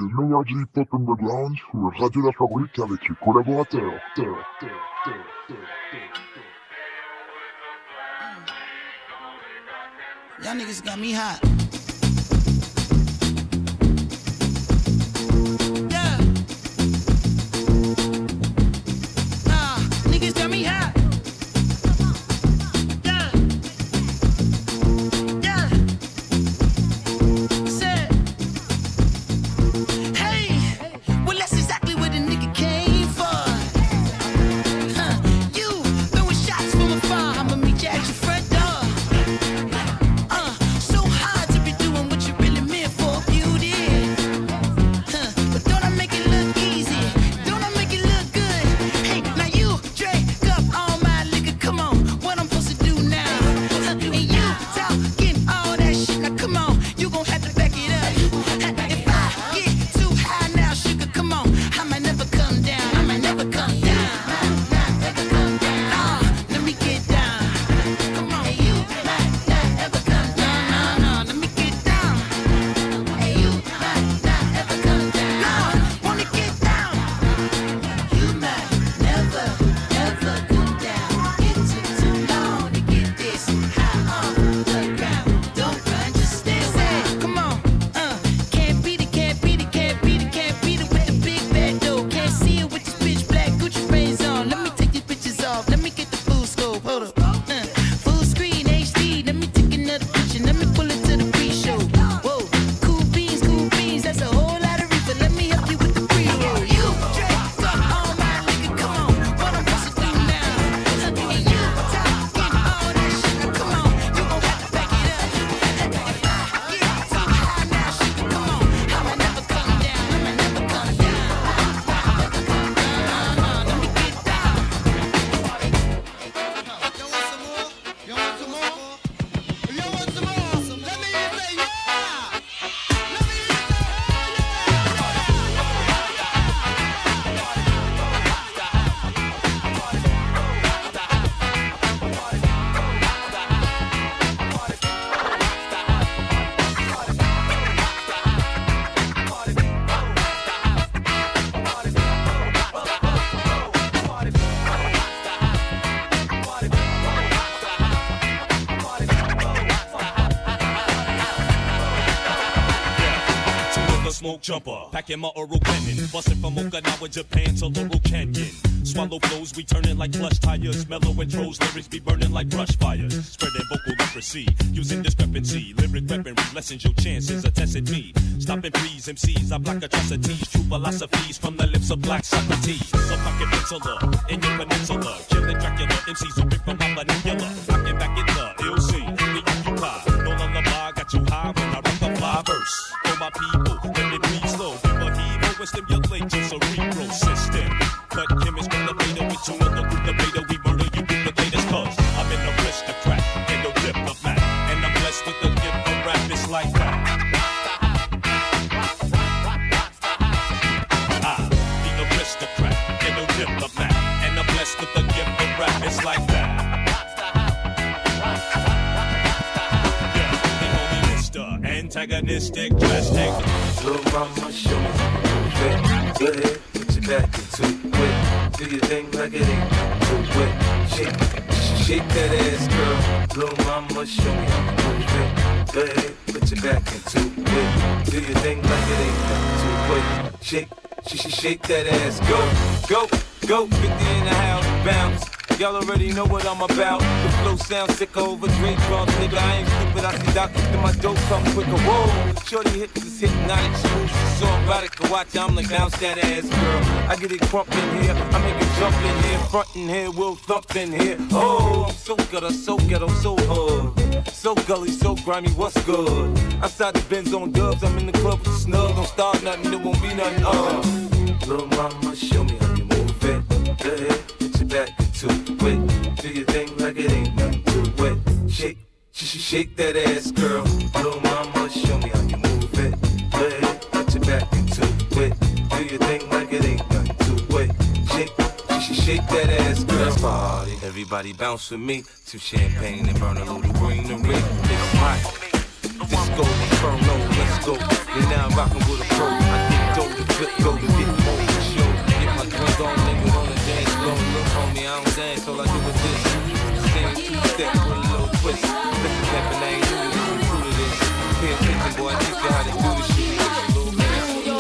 le meilleur du hip-hop underground sur Radio La Fabrique avec les collaborateurs. Y'all niggas got me hot. Yeah. Niggas got me hot. Yeah. Yeah. Said. Hey. Well, that's exactly where the nigga came for. You throwing shots from afar. I'ma meet you at your front door. So hard to be doing what you really meant for, beauty. But don't I make it look easy? Don't I make it look good? Hey, now you drink up all my liquor. Come on, what I'm supposed to do now? And you talking all that shit. Now come on, you gon' have to back it up. If I get too high now, sugar, come on, I might never come down. I might never come down. Never come down. Let me get down. Come on, you might not ever come down. No, let me get down. Hey, you might not ever come down. No, wanna get down. You might never, ever come down. It took too long to get this high off the ground. Don't run, just stay away. Come on, can't beat it, can't beat it, can't beat it, can't beat it with the big bad dough. Can't see it with this bitch black Gucci frames on. Let me take these bitches off. Let me get the full scope. Hold up. Full screen HD. Let me take another picture. Let me pull it to the pre-show. Whoa, cool beans, that's a whole lot of reefer. Let me help you with the pre-roll. You drink up all my liquor. Come on, what I'm supposed to do now? And you talking all that shit. Now come on, you gon' have to back it up. If I get too high now, sugar, come on, I might never come down. I might never come down. Never come down. No, let me get down. You want some more? You want some more? If you want some more, let me hear you say yeah. Let me hear you say Smoke jumper, packing my oral cannon, busting from Okinawa, Japan to Laurel Canyon. Swallow flows, we turning like plush tires. Mellow intros, lyrics be burning like brush fires. Spreading vocal leprosy, using discrepancy. Lyric weaponry lessens your chances of testing me. Stopping please, MCs, I block atrocities. True philosophies from the lips of black Socrates. So pocket penciler in your peninsula. Killing Dracula, MCs who rip from my manipula. Rocking back in the LC, the occupy. No lullaby, got you high when I rock a fly verse. For my people, let it breathe slow. Give a heave and stimulate your cerebral system. Cut chemists from the beta with you another group of beta. We murder you duplicators cause I'm an aristocrat and no diplomat. And I'm blessed with the gift of rap, it's like that. The aristocrat and no diplomat. And I'm blessed with the gift of rap, it's like that. Yeah, they call me Mr. Antagonistic, drastic. Little mama, show me how to move it. Go ahead, put your back into it. Do your thing like it ain't too wet. Shake that ass, girl. Little mama, show me how to move it. Go ahead, put your back into it. Do your thing like it ain't too wet. Shake that ass, go. 50 in the house, bounce. Y'all already know what I'm about. The flow sounds sick over Dre drums, nigga. I ain't stupid, I see doctors, then my dope come quicker. Whoa, shorty hits is hypnotic, smooth, so erotic. Watch, I'm like bounce that ass, girl. I get it crump in here, I make it jump in here, front in here, we'll thump in here. Oh, I'm so gutter, so ghetto, so hood, so gully, so grimy. What's good? Outside the Benz on dubs, I'm in the club with the snug. Don't start nothing, it won't be nothing. Little mama, show me how you move it. Go ahead, put your back into it. Do your thing like it ain't nothing too wet. Shake that ass, girl. Little mama, show me how you move it. Go ahead, put your back into it. Do your thing like it ain't nothing too wet. Shake that ass, girl. Party. Everybody bounce with me. Two champagne and burn a little greenery. It's hot. Disco Inferno, let's go. You're now rocking with a pro. I get dope. go to get more for sure. Get my drink on, niggas on the dance floor. Look, homie, I don't dance, all I do is this. Stand two-step with a little twist. Listen, Captain, I ain't new to this, we true to this. Pay attention, boy, I teach you how to do this shit. Little man.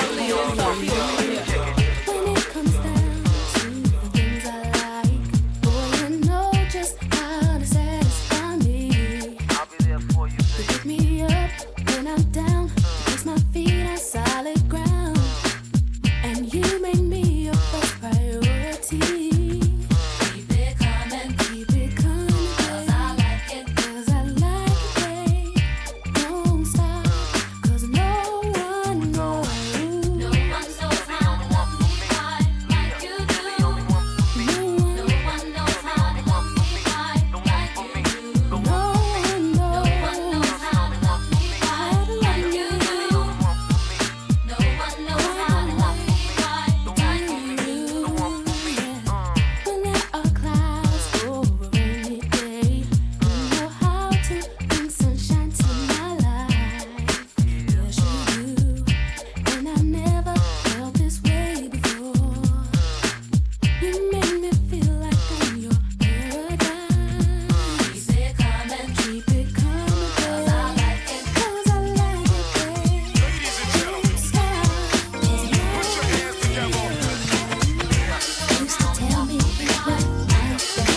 When it comes down to the things I like, boy, you know just how to satisfy me. I'll be there for you, You pick me up when I'm down, place my feet on solid ground, and you make me your first priority. Keep it coming, cause I like it, babe. Don't stop, cause no one knows. No one knows how to love me like you do. No one knows how to love me like you do. No one knows how to love me like you do. No one knows how to love me like you do. When there are clouds over a rainy day, you know how to bring sunshine to my life. Yes, you do. And I never felt this way before. You make me feel like I'm your paradise. Keep it coming, cause I like it, babe. Ladies and gentlemen, Stop, put your hands together. used to tell me what I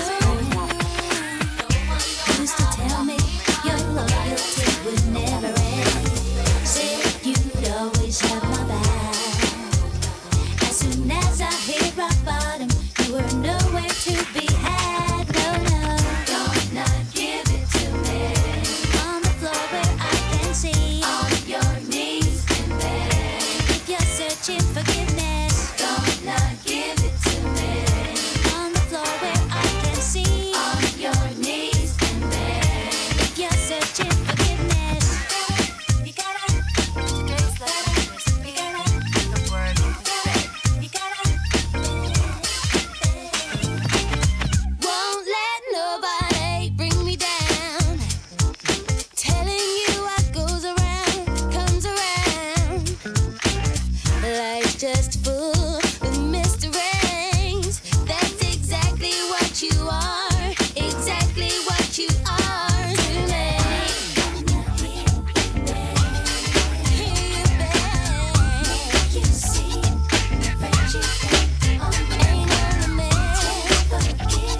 used to tell me your loyalty would never end. Said you'd always have my back. As soon as I hit rock bottom, you were nowhere to be had. No, don't not give it to me. On the floor where I can see, on your knees and beg. If you're searching forgiveness, don't not give it to me. On the floor where I can see, on your knees and beg. If you're searching forgiveness, you gotta grace like this. You gotta the word you gotta. Won't let nobody bring me down. Telling you what goes around comes around. Life's just full of mysteries. That's exactly what you are. Exactly what you are to me. Hear you beg. You see, friendship ain't on the mess. Wanna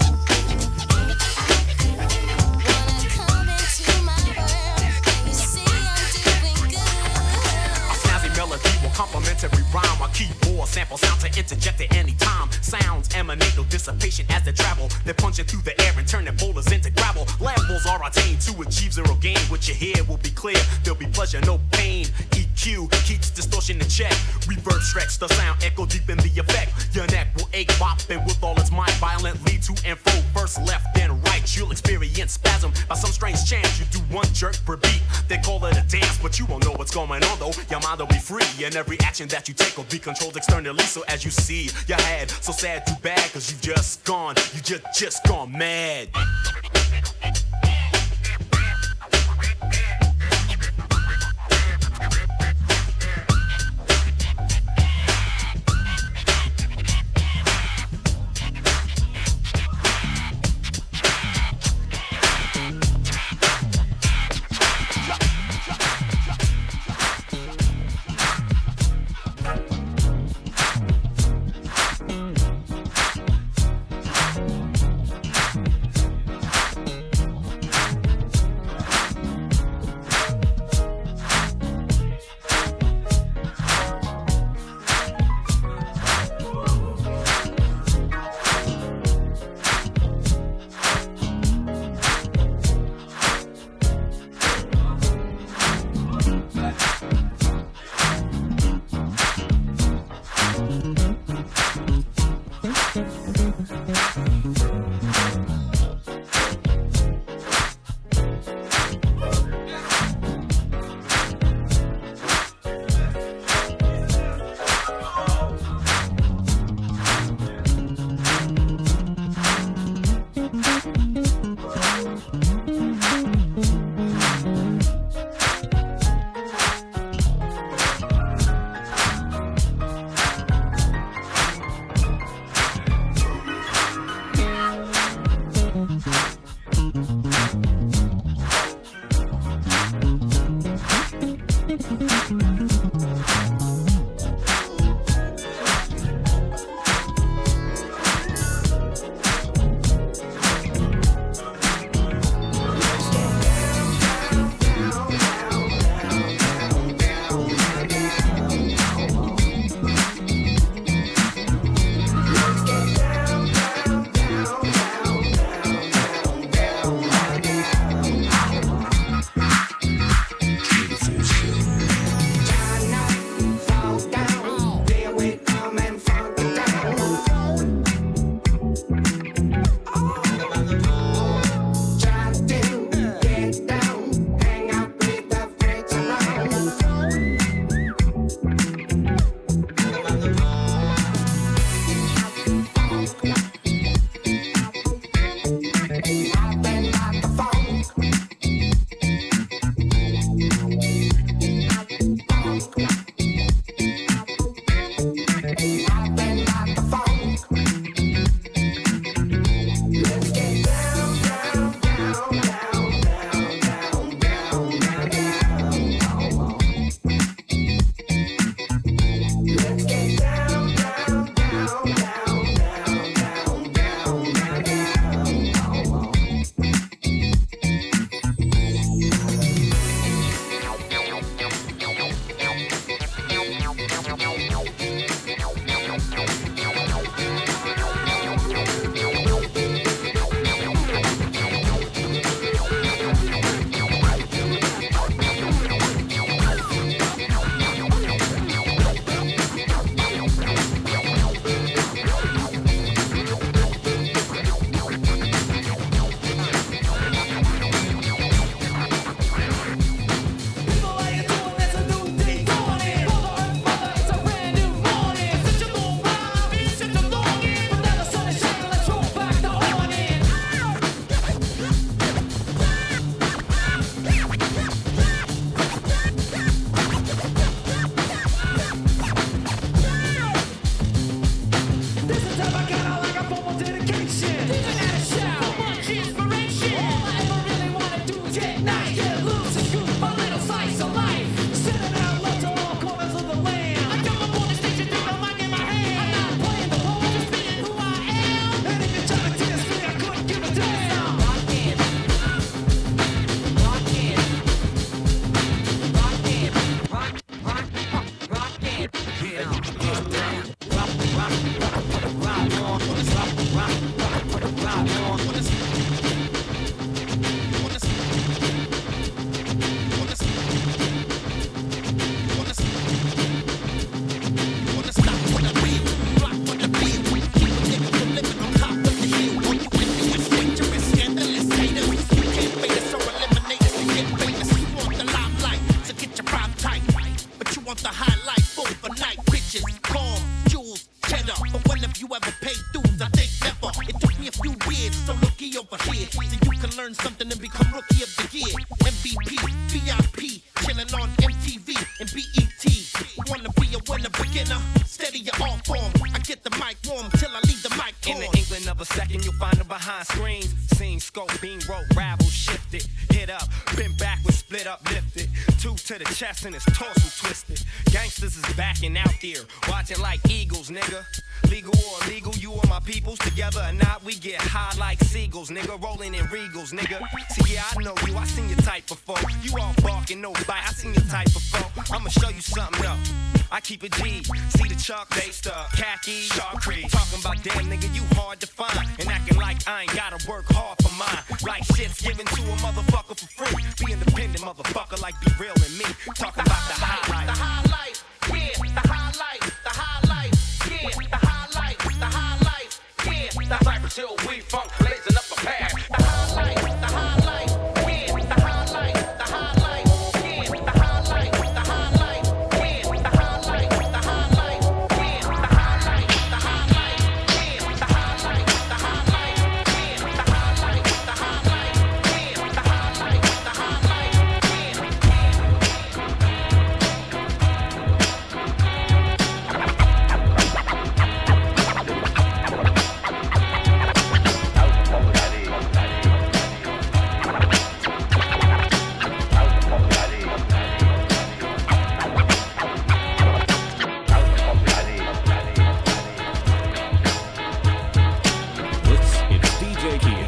come into my world, and you see I'm doing good. A snazzy melody will complimentary rhyme. A keyboard sample sound to interject at any time. Sounds emanate no dissipation as they travel. They're punching through the air and turning boulders into gravel. Levels are attained to achieve zero gain. What you hear will be clear. There'll be pleasure, no pain. EQ keeps distortion in check. Reverb stretch the sound, echo deep in the effect. Your neck will ache, bopping with all its might. Violently to and fro, first left then right. You'll experience spasm by some strange chance. You do one jerk per beat. They call it a dance, but you won't know what's going on though. Your mind will be free, and every action that you take will be controlled externally. So as you see your head, so sad, too bad, cause you've just gone, you just gone mad. And his torso twisted. Gangsters is backing out there, watching like eagles, nigga. Legal or illegal, you and my peoples together or not, we get high like seagulls, nigga. Rolling in regals, nigga. See, yeah, I know you, I seen your type before. You all barking, no bite, I seen your type before. I'ma show you something though. I keep it G. See the chalk, they stuck. Khaki, shark creek. Talking about damn nigga, you hard to find. And acting like I ain't gotta work hard for mine. Like shit's given to a motherfucker for free. Be independent, motherfucker, like Be Real and me. Talking about the high life. The high life, yeah, the high life, the high life, yeah, the high life, the high life, yeah. The Cypress Hill, we funk, blazing up a path. The high life, the high life, yeah, the high life, the high life, yeah, the high life, the high life, yeah, the high life, the high life, yeah, the high life, the high life, yeah, the high life, the high life, yeah, the high life, the high life, yeah, the high life, the high life, It's DJ Key.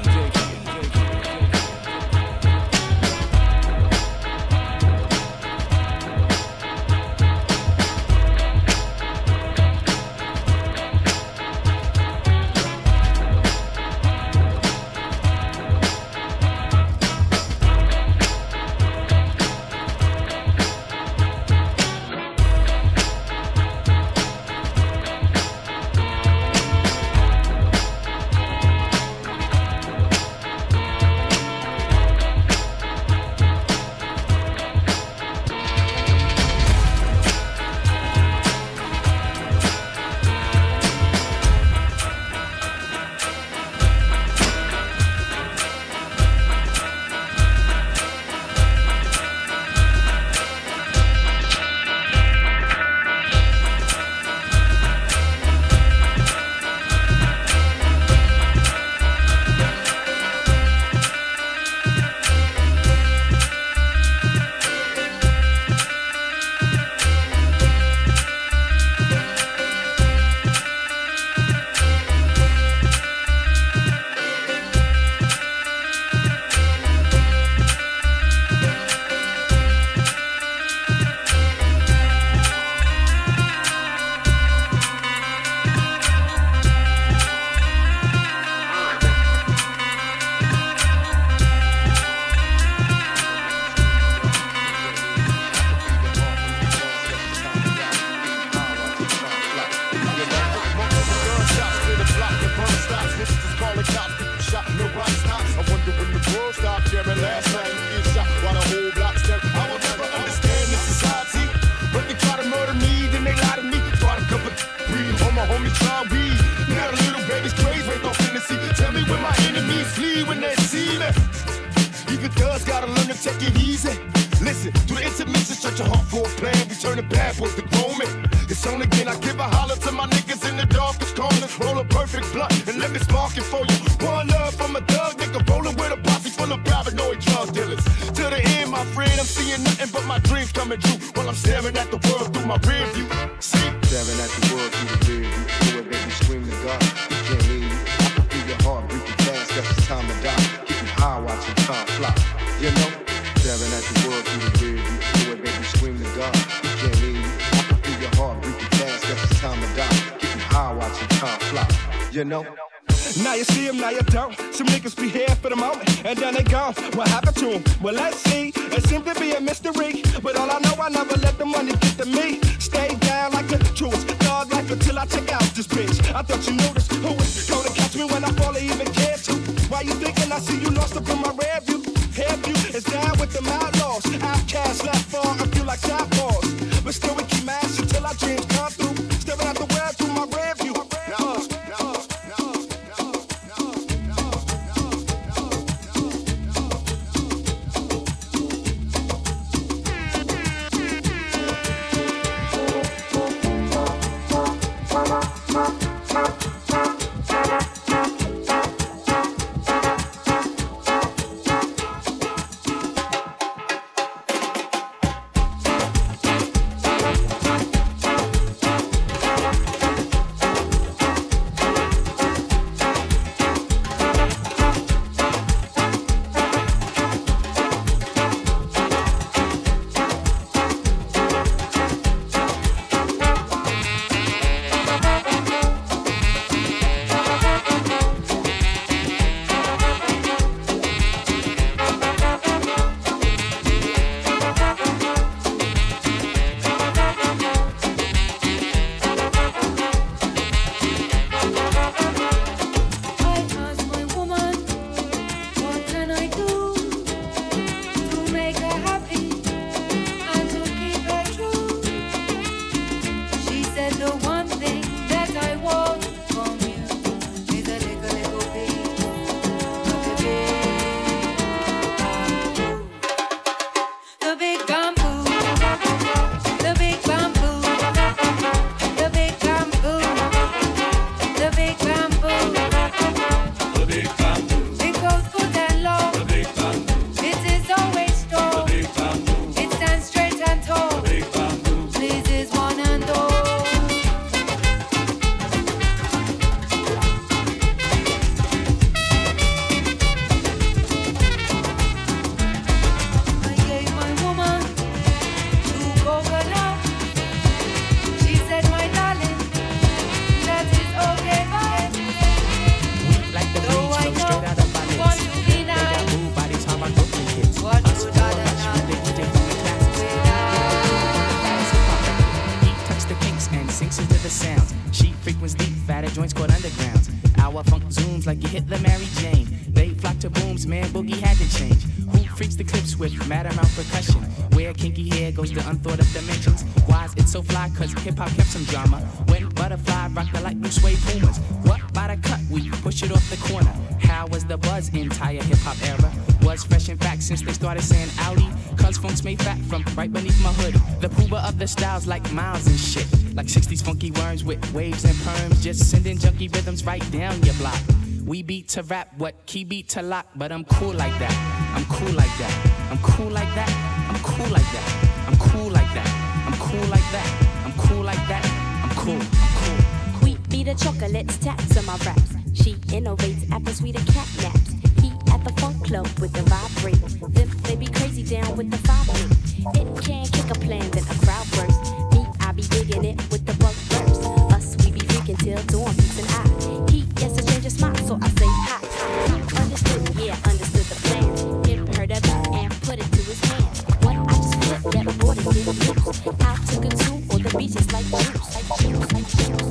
take it easy. Listen, to the intermission, shut your hardcore plan. We turn the bad boys to grown men. It's on again, I give a holler to my niggas in the darkest corners. Roll a perfect blunt and let me spark it for you. One love from a thug nigga, rolling with a posse full of paranoid drug dealers. To the end, my friend, I'm seeing nothing but my dreams coming true. While I'm staring at the world through my rear view. See? Staring at the world through the rear view. Do it, baby, scream to God. You can't leave you. I can feel your heart beating fast, that's the time to die. Keep you high watching time fly. You know? Staring at the world through the rear view. Do it, baby, scream to God. You can't leave you. I can feel your heart beating fast, that's the time to die. Keep you high watching time fly. You know? Now you see him, now you don't. Some niggas be here for the moment, and then they gone. What happened to him? Well, let's see. It seemed to be a mystery, but all I know, I never let the money get to me. Stay down like a truest dog life until I check out this bitch. I thought you noticed who was gonna catch me when I fall or even care to. Why you thinking I see you lost up in my rear view? Hair view is down with them outlaws. Outcasts left far, I feel like shot balls. But still we keep mashing till our dreams come through. Staring at the world through my rear view. Hip-hop kept some drama. When Butterfly rocked the light blue suede Pumas. What by the cut? We push it off the corner. How was the buzz entire hip-hop era? Was fresh in fact since they started saying Audi. Cuz funks made fat from right beneath my hood. The pooba of the styles like Miles and shit. Like 60s funky worms with waves and perms. Just sending junky rhythms right down your block. We beat to rap, what key beat to lock. But I'm cool like that. I'm cool like that. I'm cool like that. I'm cool like that. I'm cool like that. I'm cool like that. I'm cool like that. I'm cool. I'm cool. Wheat be the chocolates, taps on my raps. She innovates after sweeter cat naps. He at the funk club with the vibrate. Them they be crazy down with the vibrate. It can't kick a plan, then a crowd burst. Me, I be digging it with the bug burst. Us, we be freaking till dawn, peace and I. He gets a change of smile, so I say hi. Understood, yeah, understood the plan. Him heard of it and put it to his hand. What I just flipped that board and did loose. Out to consume all the beaches like juice, like juice, like juice.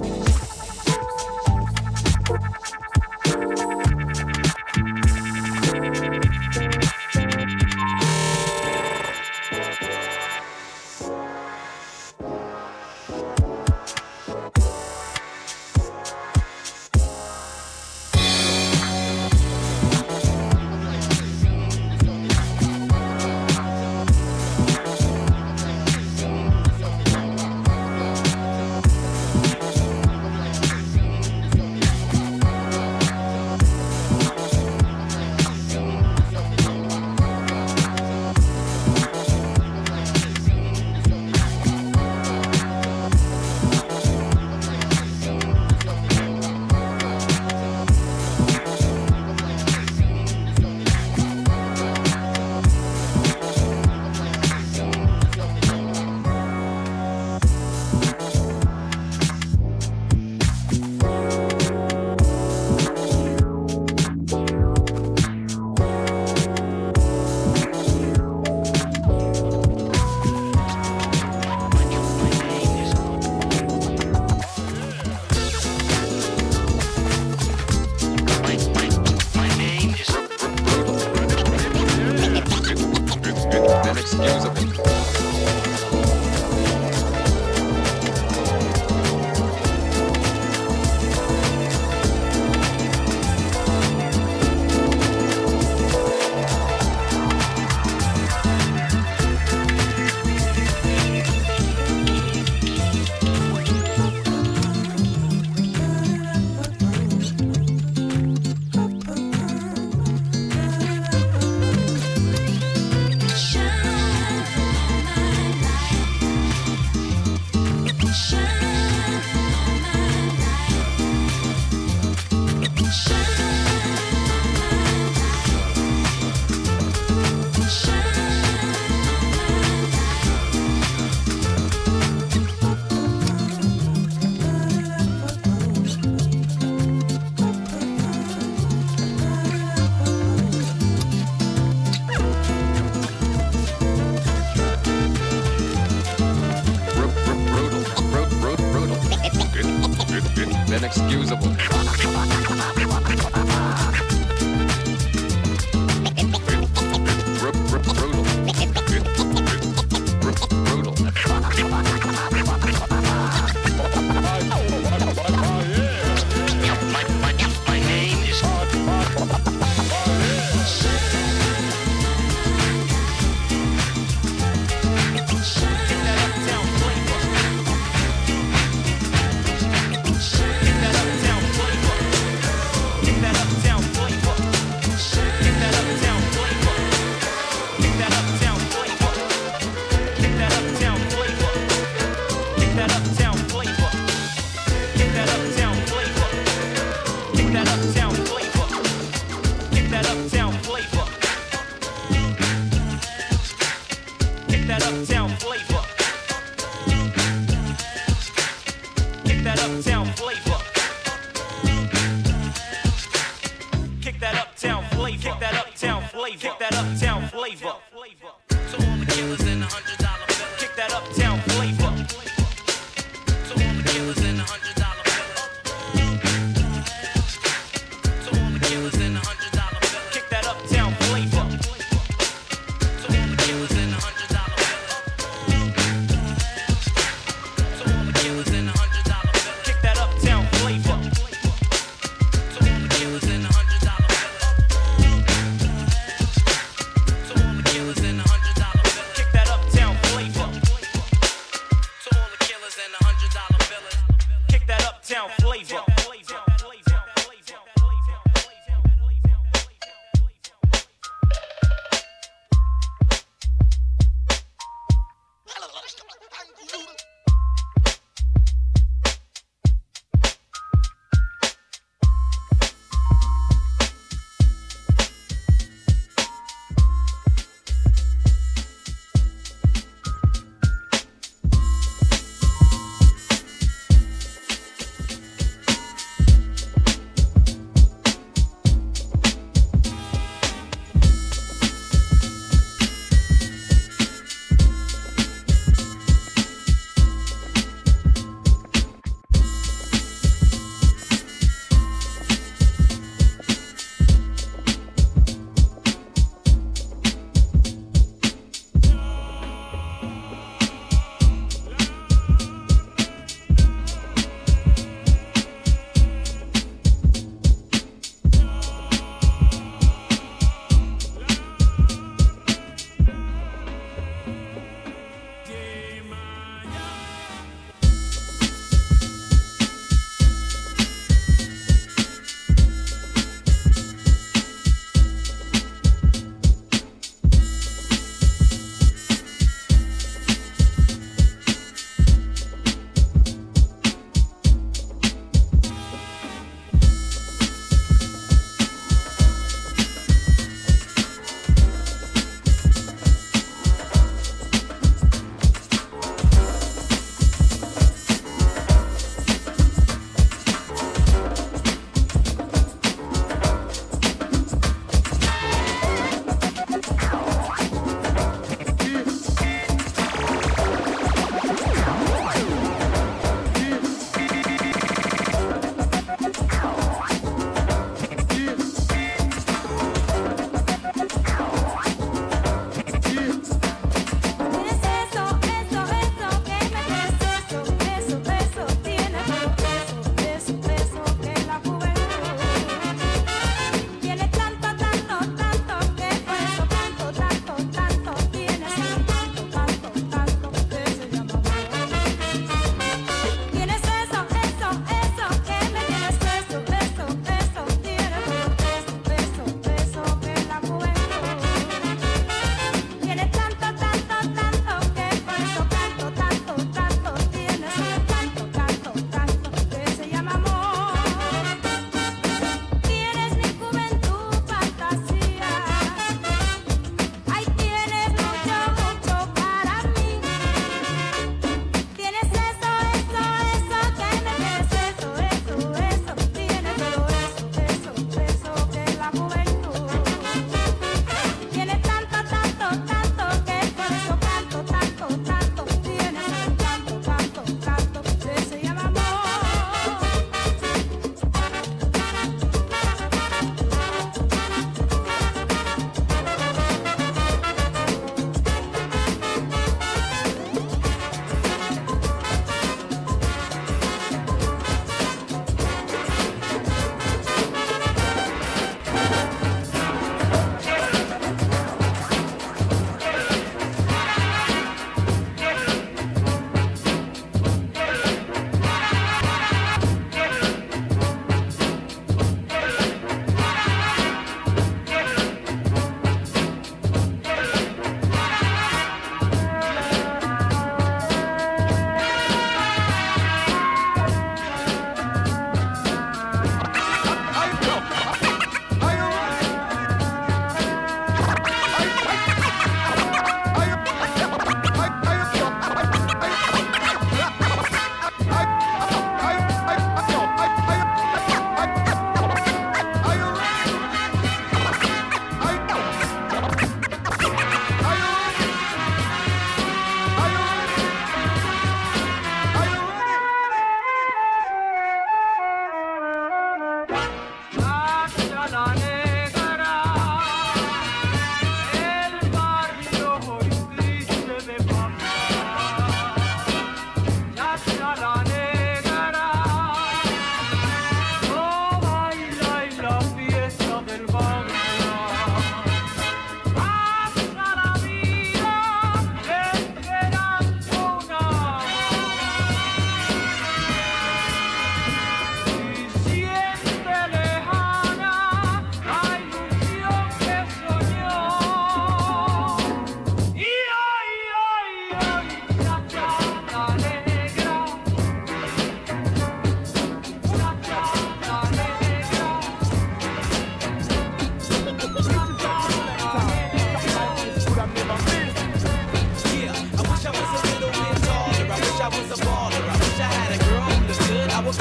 inexcusable.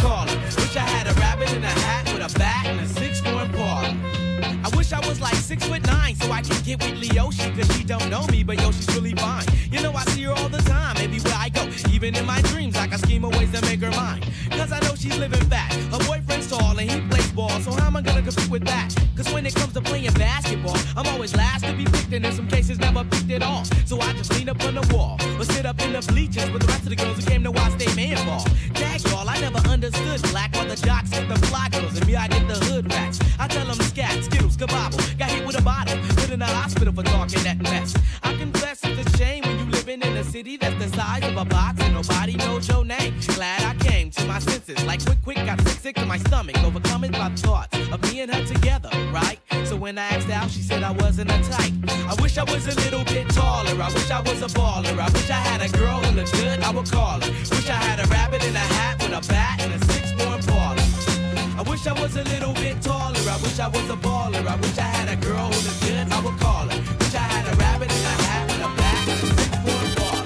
call her. Wish I had a rabbit in a hat with a bat and a 6'4" Impala. I wish I was like 6'9" so I could get with Leoshi, cause she don't know me, but yo, she's really fine. You know I see her all the time, everywhere I go. Even in my dreams, I can scheme of ways to make her mine. Cause I know she's living fat. Her boyfriend's tall and he plays ball, so how am I gonna compete with that? Cause when it comes to playing basketball, I'm always last to be picked, and in some cases never picked at all. So I just lean up on the wall, or sit up in the bleachers with the rest of the girls who came to watch they man ball. Dag y'all, I never understood black or the jocks get the fly girls, and me I get the hood rats. I tell them scat, skittles, kabobble, got hit with a bottle, put in the hospital for talking that mess. I confess it's a shame when you living in a city that's the size of a box and nobody knows your name. Glad I came to my senses, like quick, got sick to my stomach, overcome by thoughts of me and her together, right? So when I asked out, she said I wasn't a type. I wish I was a little bit taller, I wish I was a baller, I wish I had a girl who looked good, I would call her. Wish I had a rabbit in a hat with a bat and a 6'4" Impala. I wish I was a little bit taller, I wish I was a baller, I wish I had a girl who looked good, I would call her. Wish I had a rabbit in a hat with a bat and a 6'4" Impala.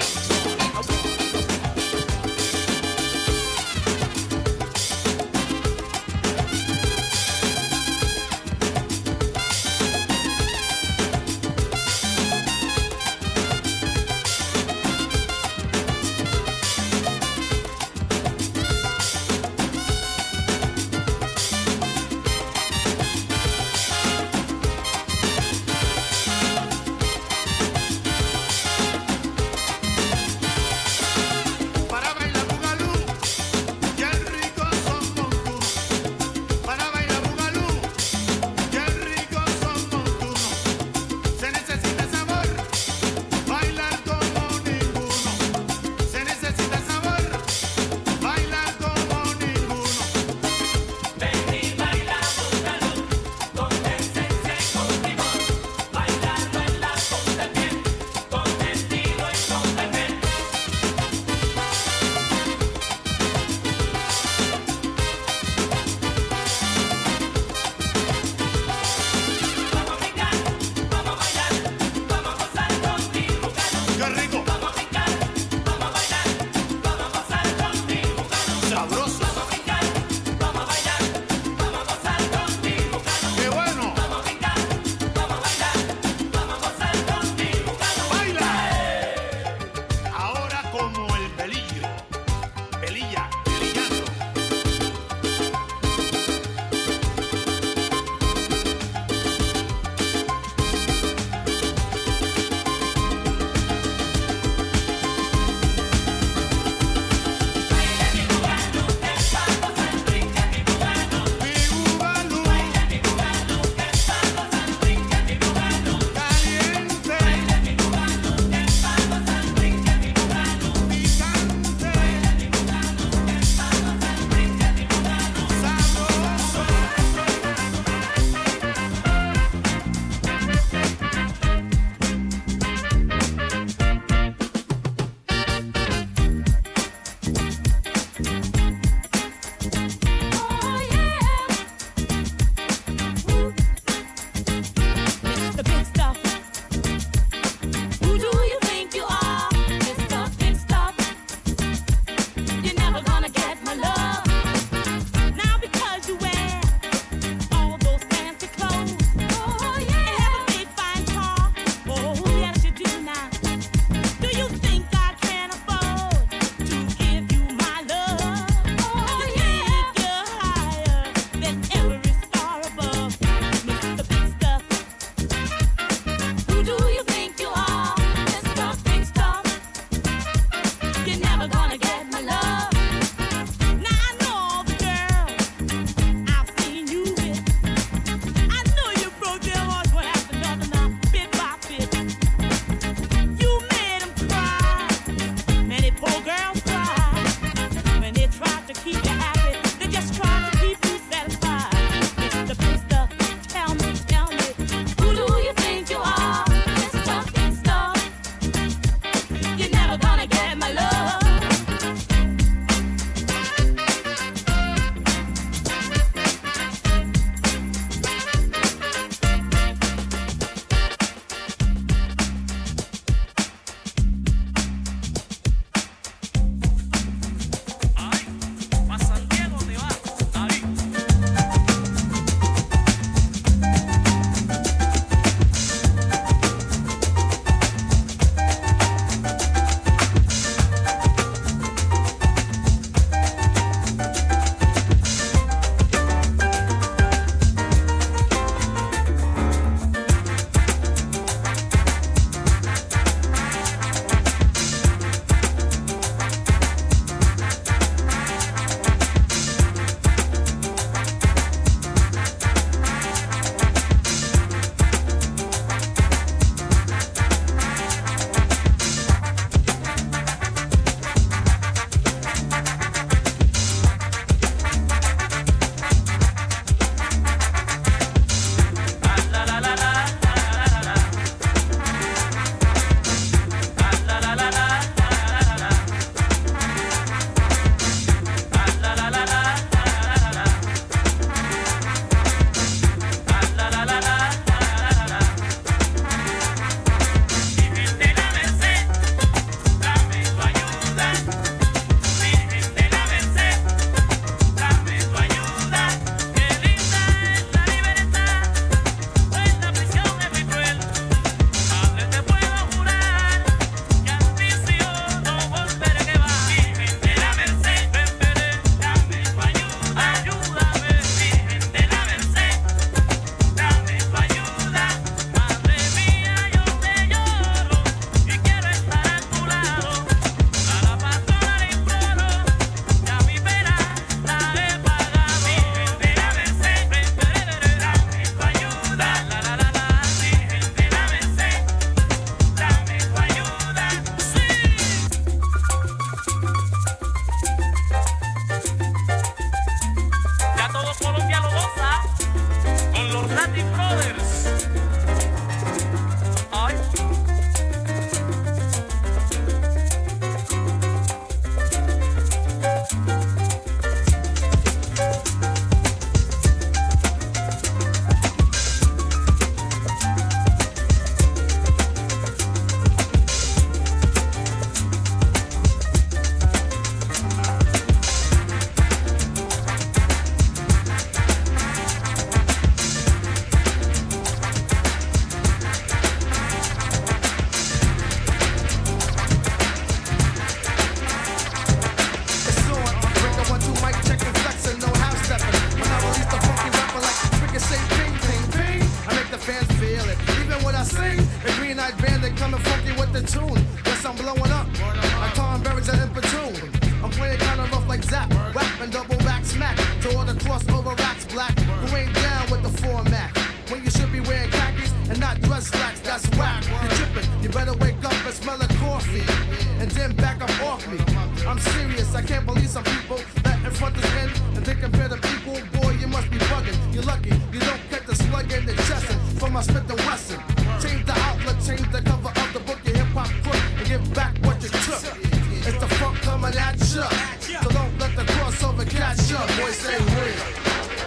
back to all the crossover rats black who ain't down with the format. When you should be wearing khakis and not dress slacks, that's whack. You're tripping, you better wake up and smell a coffee and then back up off me. I'm serious, I can't believe some people that in front of end and they compare the people. Boy, you must be bugging. You're lucky you don't get the slug in the chest from my Smith and Wesson. Change the outlook, change the cover of the book, your hip hop crook, and give back what you took. It's the funk coming at you, so don't let the crossover catch up. Boy, say real.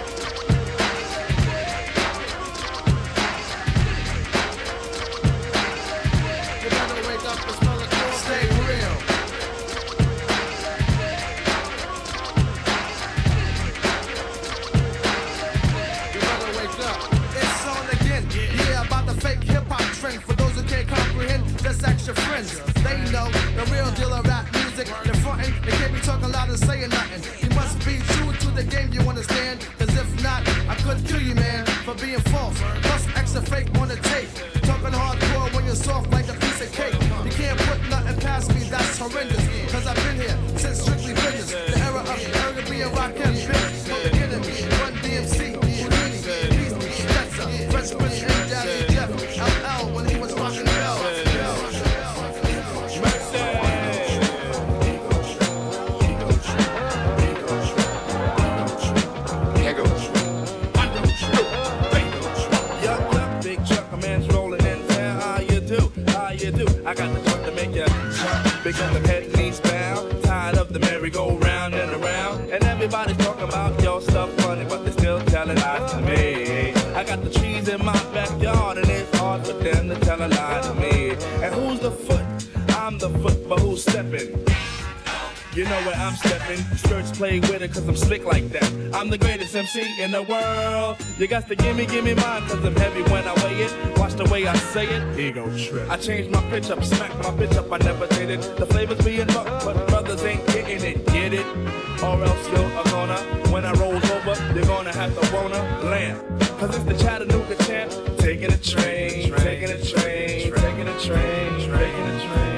Your friends, they know the real deal of rap music. They're frontin', they can't be talking loud and saying nothing. You must be true to the game, you understand? Cause if not, I could kill you, man, for being false. Plus extra fake on the tape. Talking hardcore when you're soft like a piece of cake. You can't put nothing past me, that's horrendous. Cause I've been here since strictly business. The era of Airbnb and Rakim, bitch. From the enemy, Run DMC, Houdini, Beastie, Stetzer, Fresh Prince, and Jazzy Jeff, LL when he was rocking the bell. I got the truck to make ya jump, because the head knees bound, tired of the merry-go-round and around, and everybody's talking about your stuff funny, but they still telling lies to me. I got the trees in my backyard, and it's hard for them to tell a lie to me. And who's the foot? I'm the foot, but who's stepping? You know where I'm stepping. Skirts play with it cause I'm slick like that. I'm the greatest MC in the world. You got to give me mine cause I'm heavy when I weigh it. Watch the way I say it. Ego trip. I changed my pitch up, smack my bitch up, I never did it. The flavor's being bucked, but brothers ain't getting it. Get it? Or else you're gonna, when I rolls over, you're gonna have to wanna land. Cause it's the Chattanooga champ. Taking a train, taking a train, taking a train, taking a train.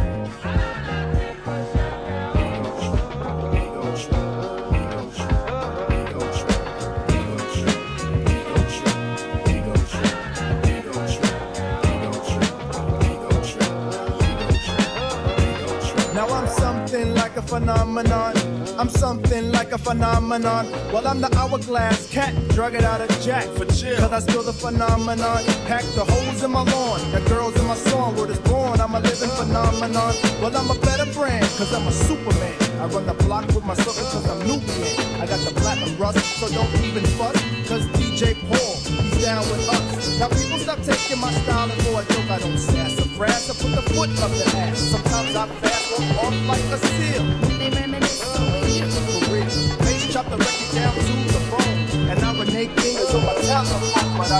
Like a phenomenon, I'm something like a phenomenon. Well, I'm the hourglass cat, drug it out of Jack for chill. Cause I still the phenomenon, pack the holes in my lawn. The girls in my song, word is born, I'm a living phenomenon. Well, I'm a better brand, cause I'm a Superman. I run the block with my sucker cause I'm Nubian. I got the platinum rust, so don't even fuss. Cause DJ Paul, he's down with us. Now people stop taking my style and for a joke I don't sass or brass. I put the foot up the ass. Sometimes I fast walk off like a seal. They reminisce over you. For real. Bass chop the record down to the bone. And I renege fingers on my telephone. But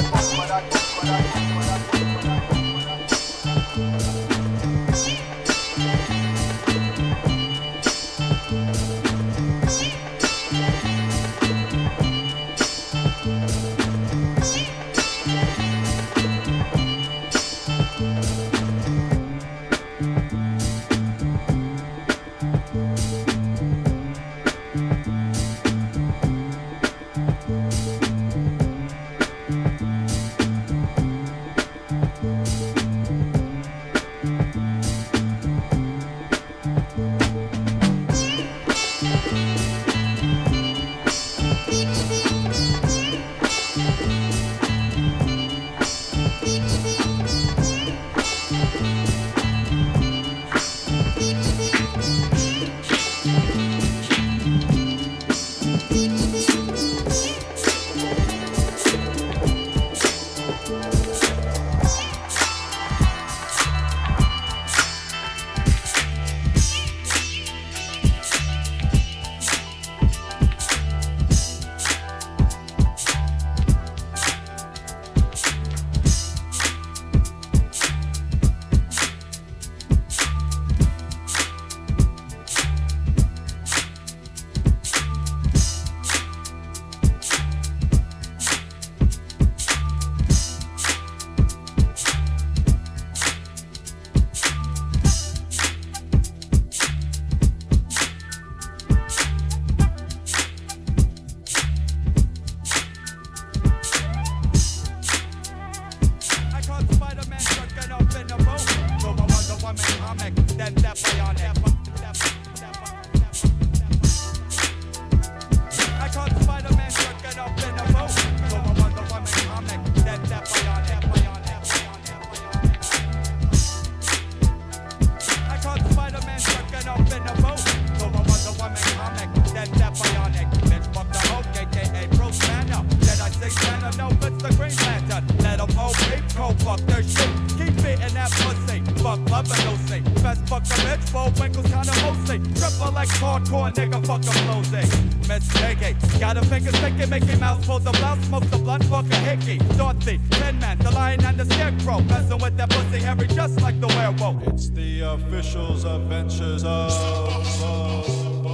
Got a finger sticking, Mickey Mouse pulls the blouse, smokes the blunt, fuck a hickey. Dorothy, Tin Man, the lion and the scarecrow, messing with that pussy Harry just like the werewolf. It's the officials' adventures of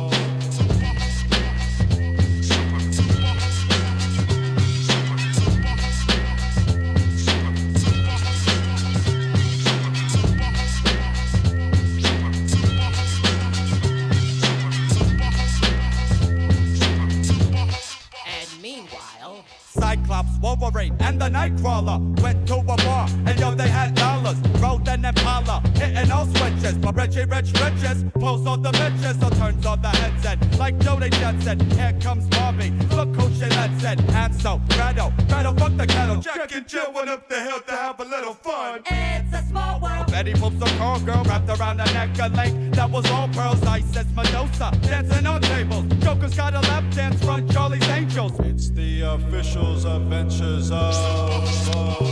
Cyclops, Wolverine, and the Nightcrawler went to a bar, and yo, they had dollars. Rode an Impala, hitting all switches. But Richie Rich Riches pulls all the bitches, so turns on the headset. Like Jody Jensen, here comes Bobby. Look who she lets it. Hansel, Gretel, fuck the kettle. Jack and Jill went up the hill to have a little fun. It's a small world. Betty Boop's a call girl wrapped around the neck a link that was all pearls. Isis Medusa dancing on tables. Joker's got a lap dance from Charlie's Angels. It's the officials' adventures of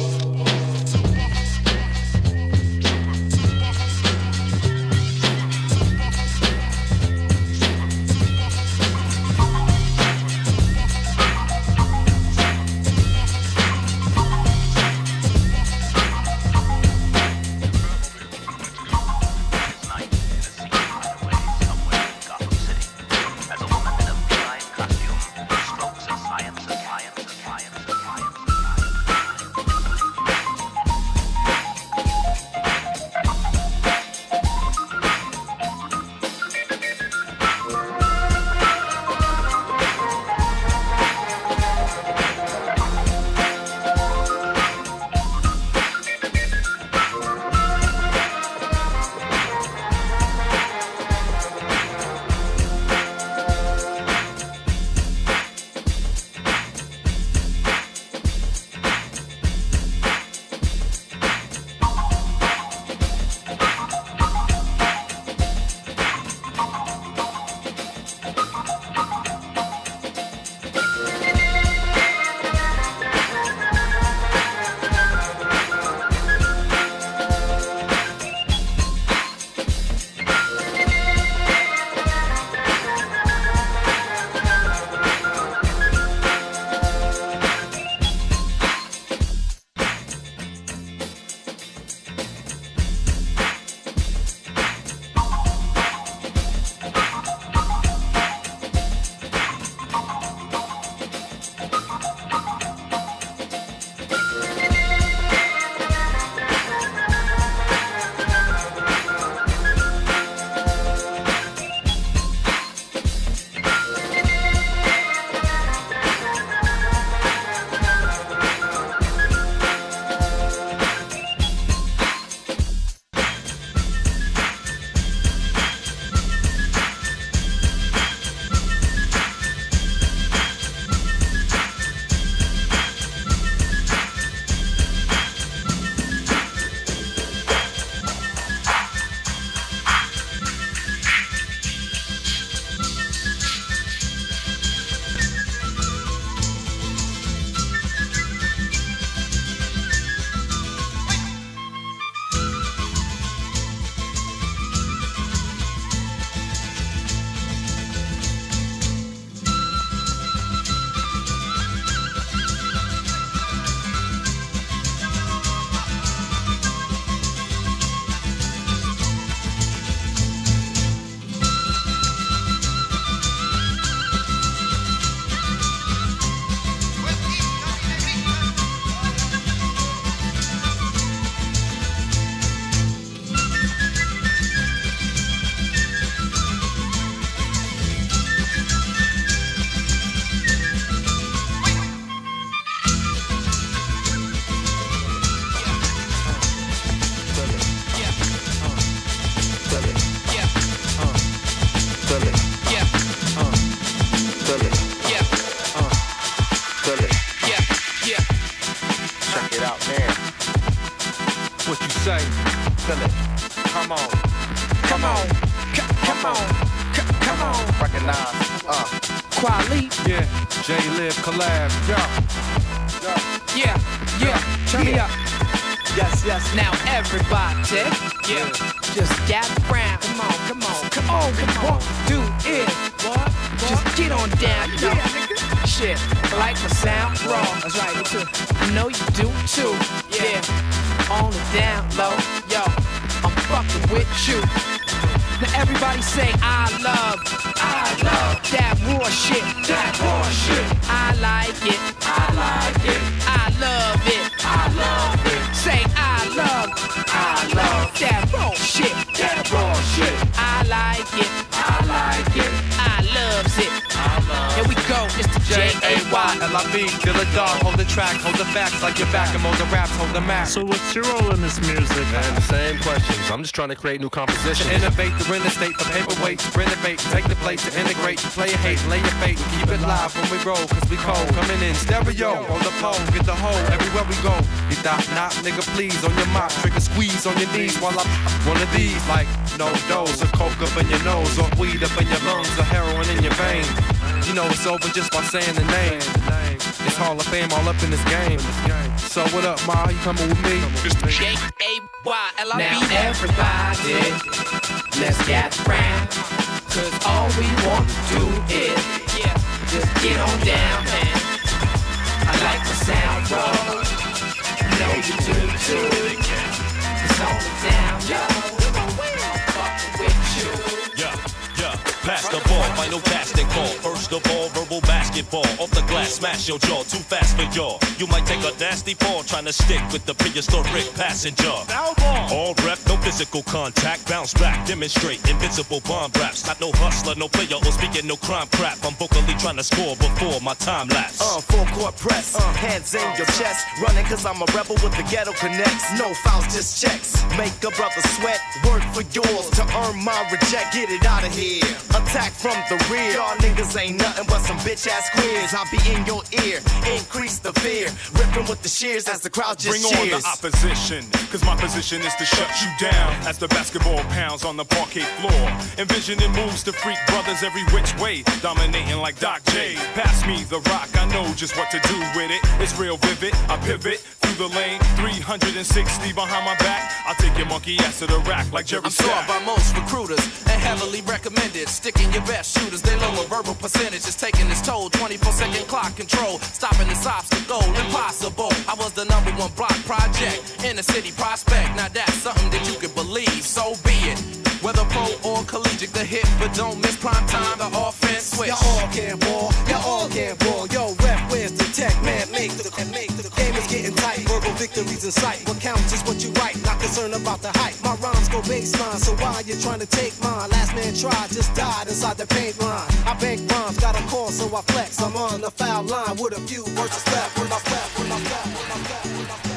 say, feel it. Come on, come on, come on, come on. Recognize, Quali. Yeah, J-Live collab, yeah, turn me up. Yes, yes. Now everybody, yeah, just gather round. Come on, come on, come on, come on. Do it. What? Just get on down, you know. Shit, like my sound raw. That's right, me too. I know you do too. Yeah, on the down low, yo, I'm fucking with you. Now everybody say I love that raw shit, that raw shit. I like it, I like it. I love it, I love it. Say I love that raw shit, that raw shit. I like it, I like it. I loves it. Here we go, it's the J-A-Y-L-I-B, feel the dog, hold the track, hold the facts like your back, and hold the raps, hold the map. So what's your role in this music? Man, the same questions. I'm just trying to create new compositions. To innovate, to renovate, from paperweight to renovate, take the plate to integrate, to play your hate, lay your fate, and keep it live when we roll, cause we cold. Coming in stereo, on the pole, get the hole everywhere we go. You thought not, nigga, please, on your mop, trigger squeeze on your knees while I one of these, like no dose, or coke up in your nose, or weed up in your lungs, or heroin in your veins. You know it's over just by saying the name. It's Hall of Fame all up in this game. So what up, Ma? You coming with me? J-A-Y-L-I-B. Now everybody, let's get round. Cause all we want to do is just get on down, man. I like the sound, bro. I know you do too. It's on the down, yo. Fucking with you. Pass the ball, final casting call. First of all, verbal basketball. Off the glass, smash your jaw, too fast for y'all. You might take a nasty fall trying to stick with the prehistoric passenger. All rep, no physical contact. Bounce back, demonstrate invincible bomb raps. Not no hustler, no player, or speaking no crime crap. I'm vocally trying to score before my time lapse. Full court press, hands in your chest. Running cause I'm a rebel with the ghetto connects. No fouls, just checks. Make a brother sweat, work for yours to earn my reject. Get it out of here. Attack from the rear. Y'all niggas ain't nothing but some bitch ass queers. I'll be in your ear, increase the fear. Ripping with the shears as the crowd just bring cheers. On the opposition, cause my position is to shut you down. As the basketball pounds on the parquet floor. Envisioning moves to freak brothers every which way. Dominating like Doc J. Pass me the rock, I know just what to do with it. It's real vivid, I pivot through the lane. 360 behind my back. I'll take your monkey ass to the rack like Jerry I'm Stack. sought by most recruiters and heavily recommended. Sticking your best shooters, they lower verbal percentages, taking its toll. 24-second clock control, stopping this obstacle, impossible. I was the #1 block project in the city prospect. Now that's something that you can believe, so be it. Whether pro or collegiate, the hit, but don't miss prime time, the offense switch. Y'all can ball, y'all can ball. Yo, rep, where's the tech, man? Make the game is getting tight, verbal victories in sight. What counts is what you write, not concerned about the hype. My rhymes go baseline, so why you trying to take mine? Last man tried, just died inside the paint line. I bank rhymes, got a call, so I flex. I'm on the foul line with a few verses left. When I left, when I left, when I left, when I left.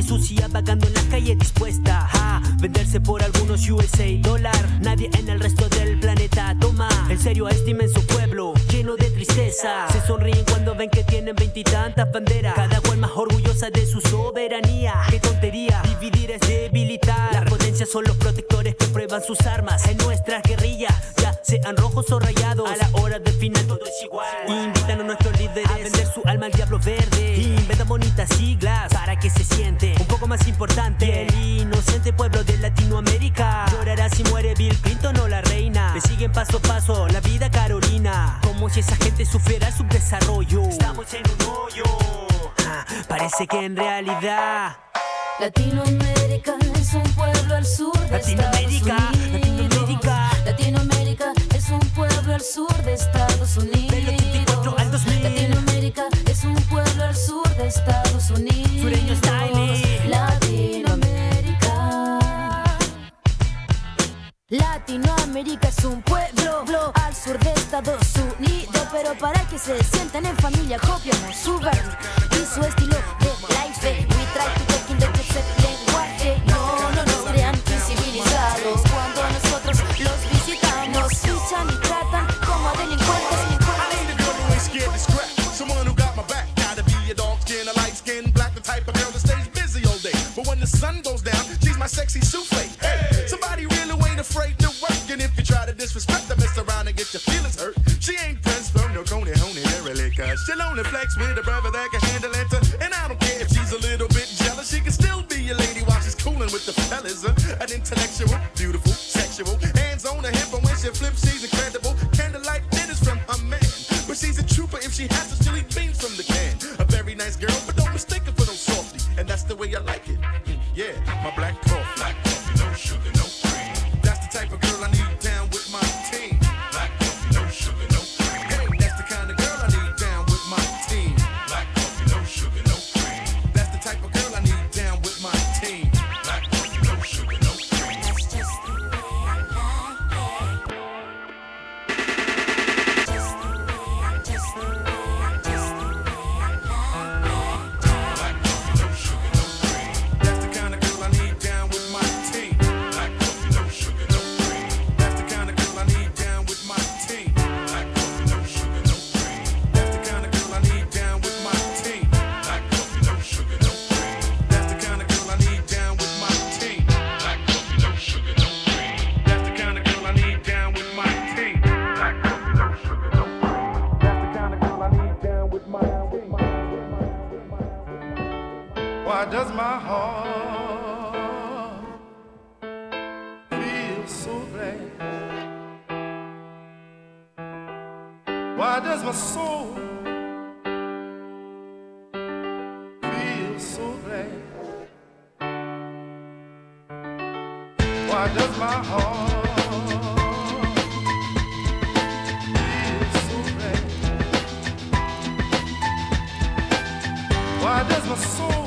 sucia vagando en la calle dispuesta a venderse por algunos USA dólar. Nadie en el resto del planeta toma en serio a este inmenso pueblo lleno de tristeza. Se sonríen cuando ven que tienen 20 y tantas banderas, cada cual más orgullosa de su soberanía. Qué tontería, dividir es debilitar. La potencia son los protectores que prueban sus armas en nuestras guerrillas, ya sean rojos o rayados. A la hora del final todo es igual. Invitan a nuestros líderes a vender su alma al diablo verde. Inventan bonitas siglas para que se siente un poco más importante. Y el inocente pueblo de Latinoamérica llorará si muere Bill Clinton o la reina. Le siguen paso a paso la vida Carolina, como si esa gente sufriera subdesarrollo. Estamos en un hoyo. Parece que en realidad Latinoamérica es un pueblo al sur de Estados Unidos. Latinoamérica es un pueblo al sur de Estados Unidos. Del 84 al 2000. Latinoamérica es un pueblo al sur de Estados Unidos. Sureño style. Latinoamérica es un pueblo al sur de Estados Unidos. Pero para que se sientan en familia, copiamos su verbo y su estilo de life. We try to take in the lenguaje. No nos crean incivilizados cuando nosotros los visitamos. Nos fichan y tratan como delincuentes. Scared to scrap. Someone who got my back. Gotta be a dark skin, a light skin, black, the type of girl that stays busy all day. But when the sun goes down, she's my sexy souffle. Hey, somebody really ain't afraid to work. And if you try to disrespect her, mess around and get your feelings hurt. She ain't Prince from no Coney, really, cause she'll only flex with a brother that can handle it. And I don't care if she's a little bit jealous. She can still be a lady while she's cooling with the fellas. An intellectual, beautiful, sexual. Hands on her hip, and when she flips, she's incredible. Candlelight dinners from her man. But she's a trooper if she has to chili beans from the can. A very nice girl, but don't mistake her for no softy. And that's the way I like it. Yeah, my black coffee. Black coffee, no sugar, no cream. That's the type of girl I need down with my team. Black coffee, no sugar, no cream. Hey, that's the kind of girl I need down with my team. Black coffee, no sugar, no cream. That's the type of girl I need down with my team. Black coffee, no sugar, no cream. That's just the way I like it. Why does my heart feel so glad? Why does my soul feel so glad? Why does my heart feel so glad? Why does my soul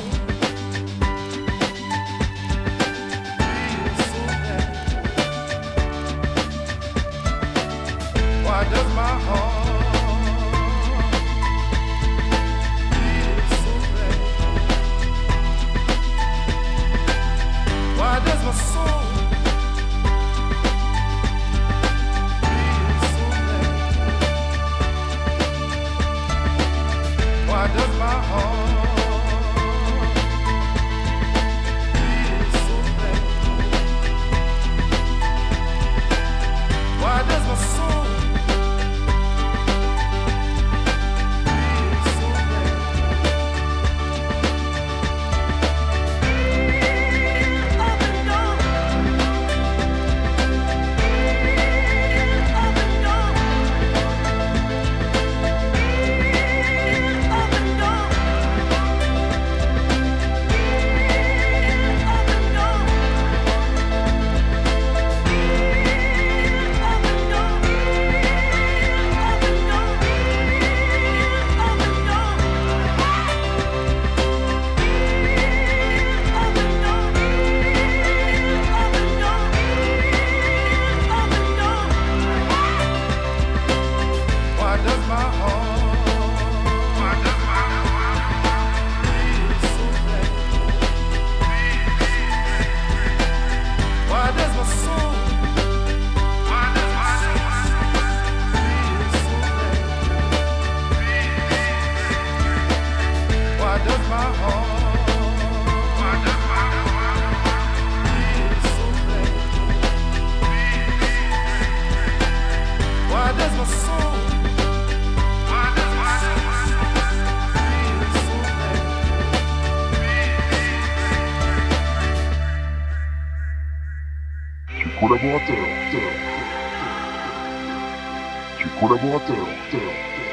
why does my heart feel so bad? Why does my soul feel so bad? Why does my heart feel so bad? Why does my soul collaborateur.